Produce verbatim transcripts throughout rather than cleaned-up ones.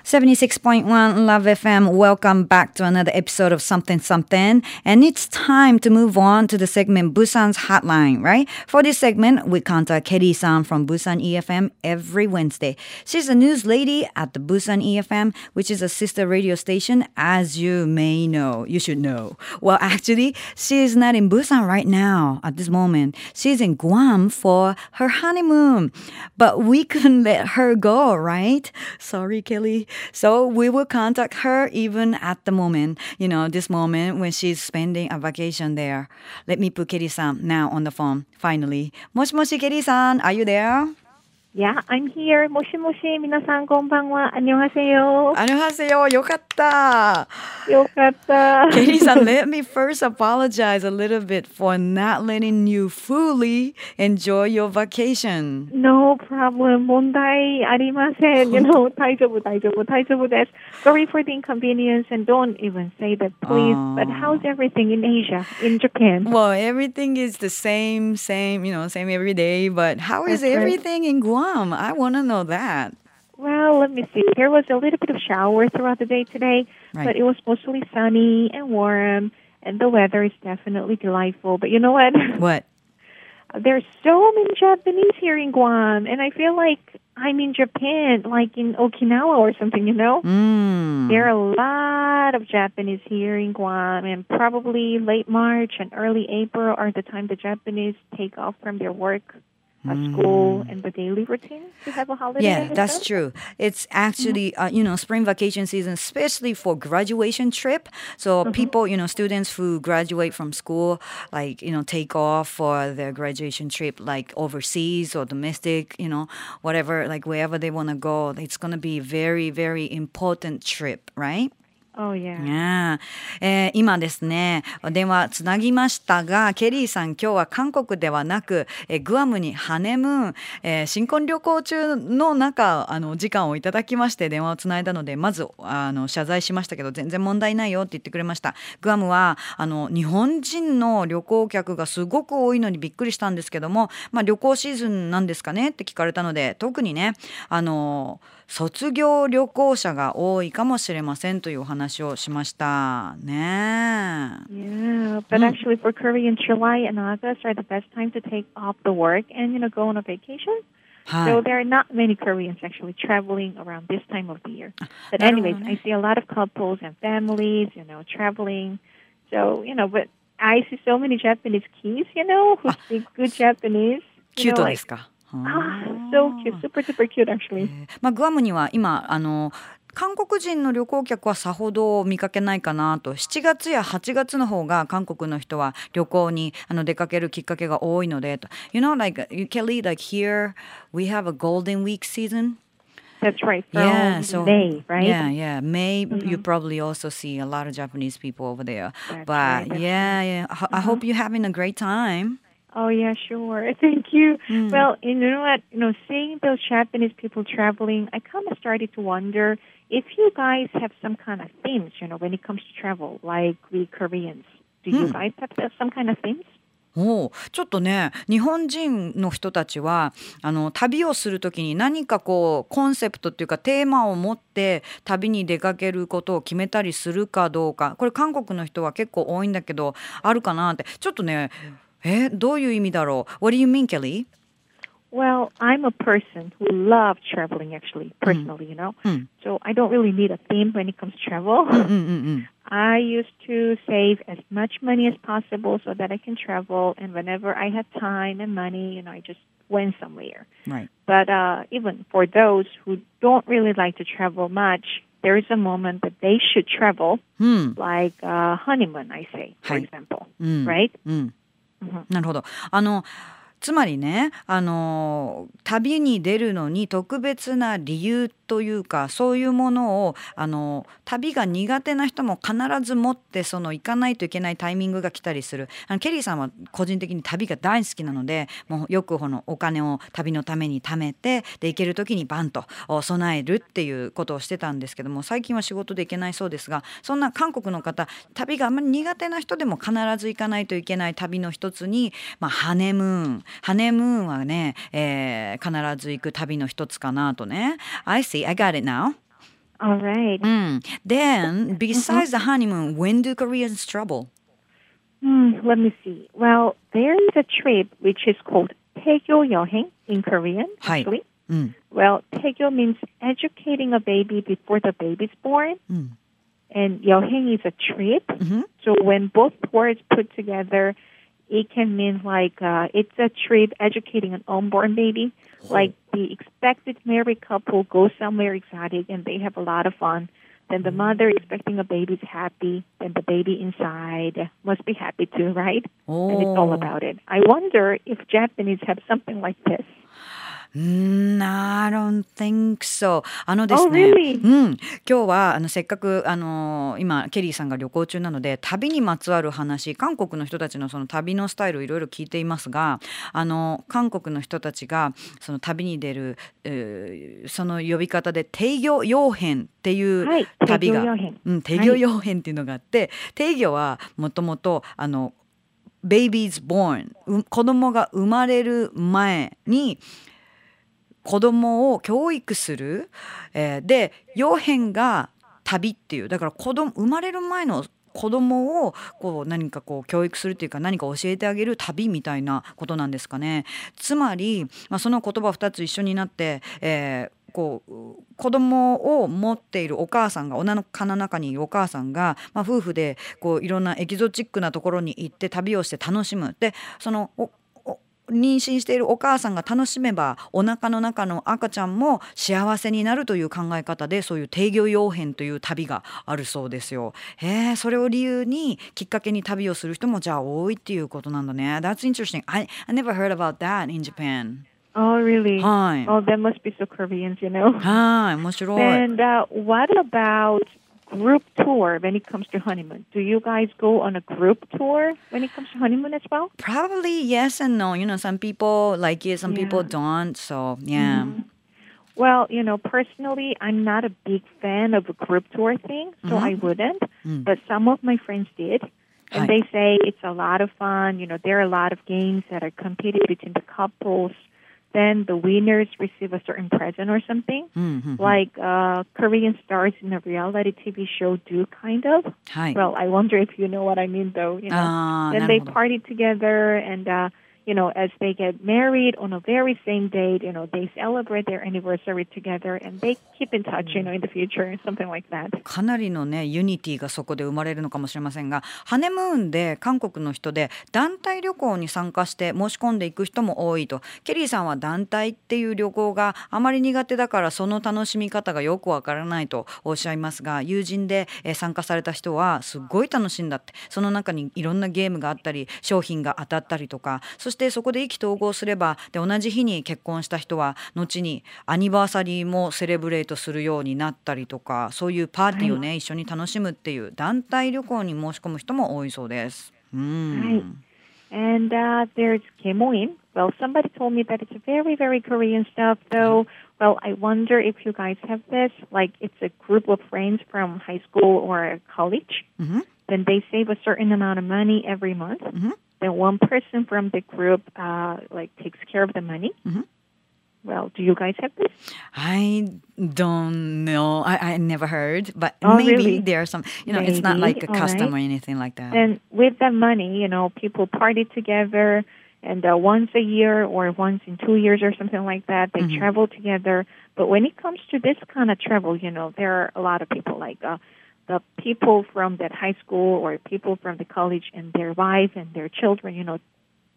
seventy-six point one Love エフエム. Welcome back to another episode of Something Something. And it's time to move on to the segment Busan's Hotline, right? For this segment, we contact Kelly-san from Busan E F M every Wednesday. She's a news lady at the Busan E F M, which is a sister radio station, as you may know. You should know. Well, actually, she is not in Busan right now at this moment. She's in Guam for her honeymoon. But we couldn't let her go, right? Sorry, Kelly. So we will contact her even at the moment, you know, this moment when she's spending a vacation there. Let me put Kelly-san now on the phone, finally. Moshi moshi, Kelly-san, are you there? Yeah, I'm here. 모시 모시, 皆さんこんばんは. 안녕하세요. 안녕하세요. よかった. よかった. Kelly-san, let me first apologize a little bit for not letting you fully enjoy your vacation. No problem. 問題ありません. You know, 大丈夫、大丈夫、大丈夫です. Sorry for the inconvenience and don't even say that, please. Oh. But how's everything in Asia, in Japan? Well, everything is the same, same, you know, same every day. But how is That's right. everything in Guam? I want to know that. Well, let me see. There was a little bit of shower throughout the day today, Right. but it was mostly sunny and warm, and the weather is definitely delightful. But you know what? What? There's so many Japanese here in Guam, and I feel like I'm in Japan, like in Okinawa or something, you know? Mm. There are a lot of Japanese here in Guam, and probably late March and early April are the time the Japanese take off from their work, uh, school, and the daily routine to have a holiday. Yeah, and that's stuff. true. It's actually, uh, you know, spring vacation season, especially for graduation trip. So people, you know, students who graduate from school, like, you know, take off for their graduation trip, like overseas or domestic, you know, whatever, like wherever they want to go. It's going to be very, very important trip, right? Oh, yeah. ねええー今ですね電話つなぎましたがケリーさん今日は韓国ではなく、えーグアムにハネムーン、えー新婚旅行中の中あの時間をいただきまして電話をつないだのでまずあの謝罪しましたけど全然問題ないよって言ってくれました。グアムはあの日本人の旅行客がすごく多いのにびっくりしたんですけども、まあ、旅行シーズンなんですかねって聞かれたので特にねあの卒業旅行者が多いかもしれませんというお話をしましたね。 Yeah, but actually for Korean, July and August are the best time to take off the work and, you know, go on a vacation. はい。 So there are not many Koreans actually traveling around this time of the year. But なるほど anyways, ね。 I see a lot of couples and families, you know, traveling. So, you know, but I see so many Japanese kids, you know, who speak good Japanese. キュ You ー know, トで like, すか。 ah, so cute, super, super cute actually. まあ、グアムには今あの韓国人の旅行客はさほど見かけないかなとしちがつやはちがつの方が韓国の人は旅行にあの出かけるきっかけが多いのでと You know like Kelly like here we have a golden week season That's right, from Yeah, so May, right? Yeah, yeah. May you probably also see a lot of Japanese people over there. That's But right, that's yeah, yeah. I, I hope you're having a great time. Oh, yeah, sure. Thank you. Well, you know what? You know, seeing those Japanese people traveling, I kind of started to wonder if you guys have some kind of themes, you know, when it comes to travel, like we Koreans. Do you guys have some kind of themes? おうちょっとね日本人の人たちはあの旅をするときに何かこうコンセプトっていうかテーマを持って旅に出かけることを決めたりするかどうかこれ韓国の人は結構多いんだけどあるかなってちょっとねえどういう意味だろう What do you mean, Kelly? Well, I'm a person who loves traveling, actually, personally, you know. So I don't really need a theme when it comes to travel. うんうんうん I used to save as much money as possible so that I can travel. And whenever I had time and money, you know, I just went somewhere. Right. But uh, even for those who don't really like to travel much, there is a moment that they should travel, うん like uh, honeymoon, I say, for はい example, うん right? うんなるほどあのつまりねあの旅に出るのに特別な理由というかそういうものをあの旅が苦手な人も必ず持ってその行かないといけないタイミングが来たりするあのケリーさんは個人的に旅が大好きなのでもうよくこのお金を旅のために貯めてで行ける時にバンと備えるっていうことをしてたんですけども最近は仕事で行けないそうですがそんな韓国の方旅があんまり苦手な人でも必ず行かないといけない旅の一つに、まあ、ハネムーンハネムーンはね、えー、必ず行く旅の一つかなとね I see, I got it now All right. Mm. Then, besides the honeymoon, when do Koreans travel? Hmm, let me see. Well, there is a trip which is called 태교 여행 in Korean, actually. うん Well, 태교 means educating a baby before the baby's born. うん And 여행 is a trip. Mhm. So when both words put together, it can mean like uh, it's a trip educating an unborn baby. Like the expected married couple goes somewhere exotic and they have a lot of fun. Then the mother expecting a baby is happy. Then the baby inside must be happy too, right? And it's all about it. I wonder if Japanese have something like this. Mm, I don't think so. あのです Oh, ね、 really? うん、今日はあのせっかくあの今ケリーさんが旅行中なので旅にまつわる話、韓国の人たちのその旅のスタイルをいろいろ聞いていますが、あの韓国の人たちがその旅に出る、えーその呼び方で定魚洋編っていうはい、 旅が、 定魚洋編うん、定魚洋編っていうのがあって、定魚はもともとあの babies born、う子供が生まれる前に子供を教育する、えーで洋編が旅っていう、だから子供生まれる前の子供をこう何かこう教育するっていうか何か教えてあげる旅みたいなことなんですかね。つまり、まあ、その言葉ふたつ一緒になって、えーこう子供を持っているお母さんがお腹の中にいるお母さんが、まあ、夫婦でこういろんなエキゾチックなところに行って旅をして楽しむ。でそのおお妊娠しているお母さんが楽しめばお腹の中の赤ちゃんも幸せになるという考え方で、そういう定魚洋編という旅があるそうですよ。へえ、それを理由にきっかけに旅をする人もじゃあ多いっていうことなんだね。That's interesting. I, I never heard about that in Japan. Oh, really? はい。 Oh, that must be so Koreans, you know. はい、面白い。 And uh, what about group tour when it comes to honeymoon? Do you guys go on a group tour when it comes to honeymoon as well? Probably yes and no. You know, some people like it, some Yeah. people don't. So, yeah. Mhm. Well, you know, personally, I'm not a big fan of a group tour thing, so Mhm. I wouldn't. Mm. But some of my friends did. And Hi. they say it's a lot of fun. You know, there are a lot of games that are competed between the couples. Then the winners receive a certain present or something. うんうんうん Like uh, Korean stars in a reality T V show do, kind of. はい。 Well, I wonder if you know what I mean, though. You know, ああ、 then なる they ほど。 party together, and uh, you know, as they get married on a very same date, you know, they celebrate their anniversary together, and they keep in touch, you know, in the future, something like that. かなりのねユニティがそこで生まれるのかもしれませんが、ハネムーンで韓国の人で団体旅行に参加して申し込んでいく人も多いと。ケリーさんは団体っていう旅行があまり苦手だからその楽しみ方がよくわからないとおっしゃいますが、友人でえー参加された人はすっごい楽しいんだって。その中にいろんなゲームがあったり商品が当たったりとか、そしてそこで意気投合すればで同じ日に結婚した人は後にアニバーサリーもセレブレートするようになったりとか、そういうパーティーをね、一緒に楽しむっていう団体旅行に申し込む人も多いそうです。うん。 はい。And uh, there's kemoin. Well, somebody told me that it's very, very Korean stuff, though. Well, I wonder if you guys have this. Like, it's a group of friends from high school or college. うん。 Then they save a certain amount of money every month. うん。 Then one person from the group, uh, like, takes care of the money. うん。 Well, do you guys have this? I don't know. I, I never heard, but Oh, maybe really? there are some, you know, it's not Maybe. like a All custom right. or anything like that. And with that money, you know, people party together, and uh, once a year or once in two years or something like that, they Mhm. travel together. But when it comes to this kind of travel, you know, there are a lot of people like uh, the people from that high school or people from the college and their wife and their children, you know,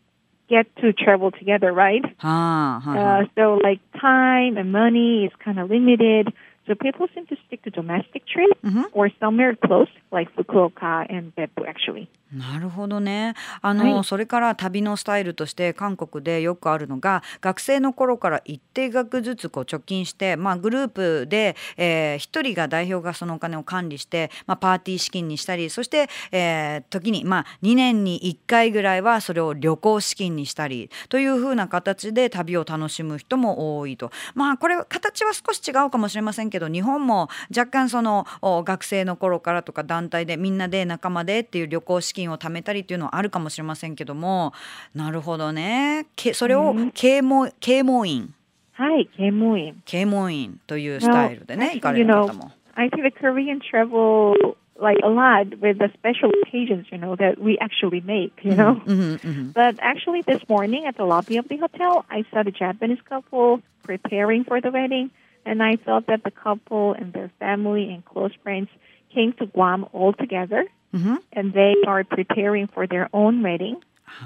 get to travel together, right? はあ、はいは Uh, い。 so like time and money is kind of limited. So people seem to stick to domestic trips Mhm. or somewhere close, like Fukuoka and Beppu, actually. なるほどね。あの、 はいそれから旅のスタイルとして韓国でよくあるのが、学生の頃から一定額ずつこう貯金して、まあ、グループで、えー、一人が代表がそのお金を管理して、まあ、パーティー資金にしたり、そして、えー、時に、まあ、にねんにいっかいぐらいはそれを旅行資金にしたりというふうな形で旅を楽しむ人も多いと。まあこれ形は少し違うかもしれませんけど、日本も若干そのお学生の頃からとか団体でみんなで仲間でっていう旅行資金を貯めたりっていうのはあるかもしれませんけども、なるほどね。けそれをうん啓蒙啓蒙員はい、ケモイン。 啓蒙員というスタイルでね、 Well, 行か actually, れ you る know, 方も。 I think the Korean travel like a lot with the special occasions, you know, that we actually make, you know. Mm-hmm, mm-hmm. But actually this morning at the lobby of the hotel, I saw the Japanese couple preparing for the wedding, and I thought that the couple and their family and close friends came to Guam all together, mm-hmm. and they are preparing for their own wedding.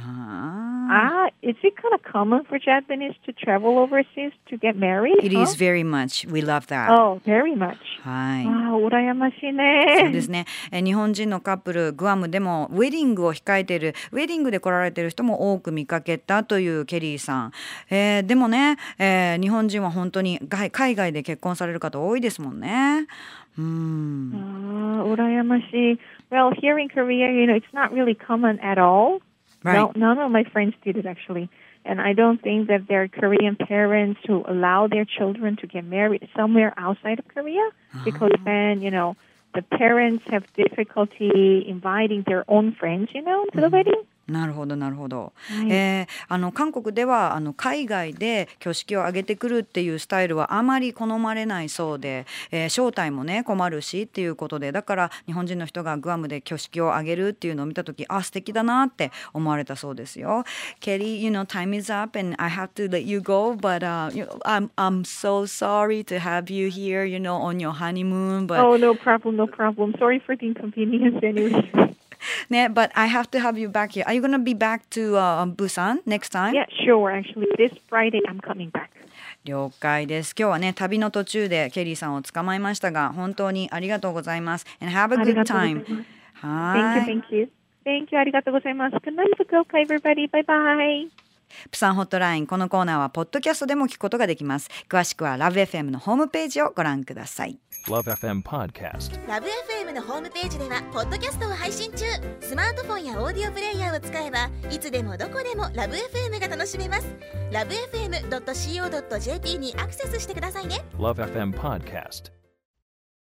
Ah. Ah, is it kind of common for Japanese to travel overseas to get married? It huh? is very much. We love that. Oh, very much. はい。 ああ、羨ましいそうね。 ですね。え日本人のカップル、グアムでもウェディングを控えている、ウェディングで来られている人も多く見かけたというケリーさん。えーでもね、えー日本人は本当に外海外で結婚される方多いですもんね。うあん。 あ、羨ましい。Well, here in Korea, you know, it's not really common at all. Right. No, none of my friends did it actually. And I don't think that there are Korean parents who allow their children to get married somewhere outside of Korea because then, you know, the parents have difficulty inviting their own friends, you know, to the wedding. なるほどなるほど、 はいえーあの韓国ではあの海外で挙式を挙げてくるっていうスタイルはあまり好まれないそうで、えー招待もね困るしっていうことで、だから日本人の人がグアムで挙式を挙げるっていうのを見たとき、あ素敵だなって思われたそうですよ。Kelly, you know, time is up and I have to let you go, but uh, you know, I'm I'm so sorry to have you here, you know, on your honeymoon, but Oh, no problem, no problem. Sorry for the inconvenience anyway. ね、but I have to have you back here. Are you gonna be back to uh, Busan next time? Yeah, sure. Actually, this Friday I'm coming back. 了解です。今日はね、旅の途中でケリーさんを捕まえましたが、本当にありがとうございます。And have a あり good がとうござい time. ます。 は Thank ー you, い。 thank you. Thank you. ありがとうございます。Good night, Fukuoka, everybody. Bye bye. プサンホットライン、このコーナーはポッドキャストでも聞くことができます。詳しくは ラブエフエム のホームページをご覧ください。 Love エフエム Podcast。 ラブ エフエム のホームページではポッドキャストを配信中。スマートフォンやオーディオプレイヤーを使えばいつでもどこでもラブ エフエム が楽しめます。ラブエフエムドットシーオードットジェーピー にアクセスしてくださいね。 Love エフエム Podcast。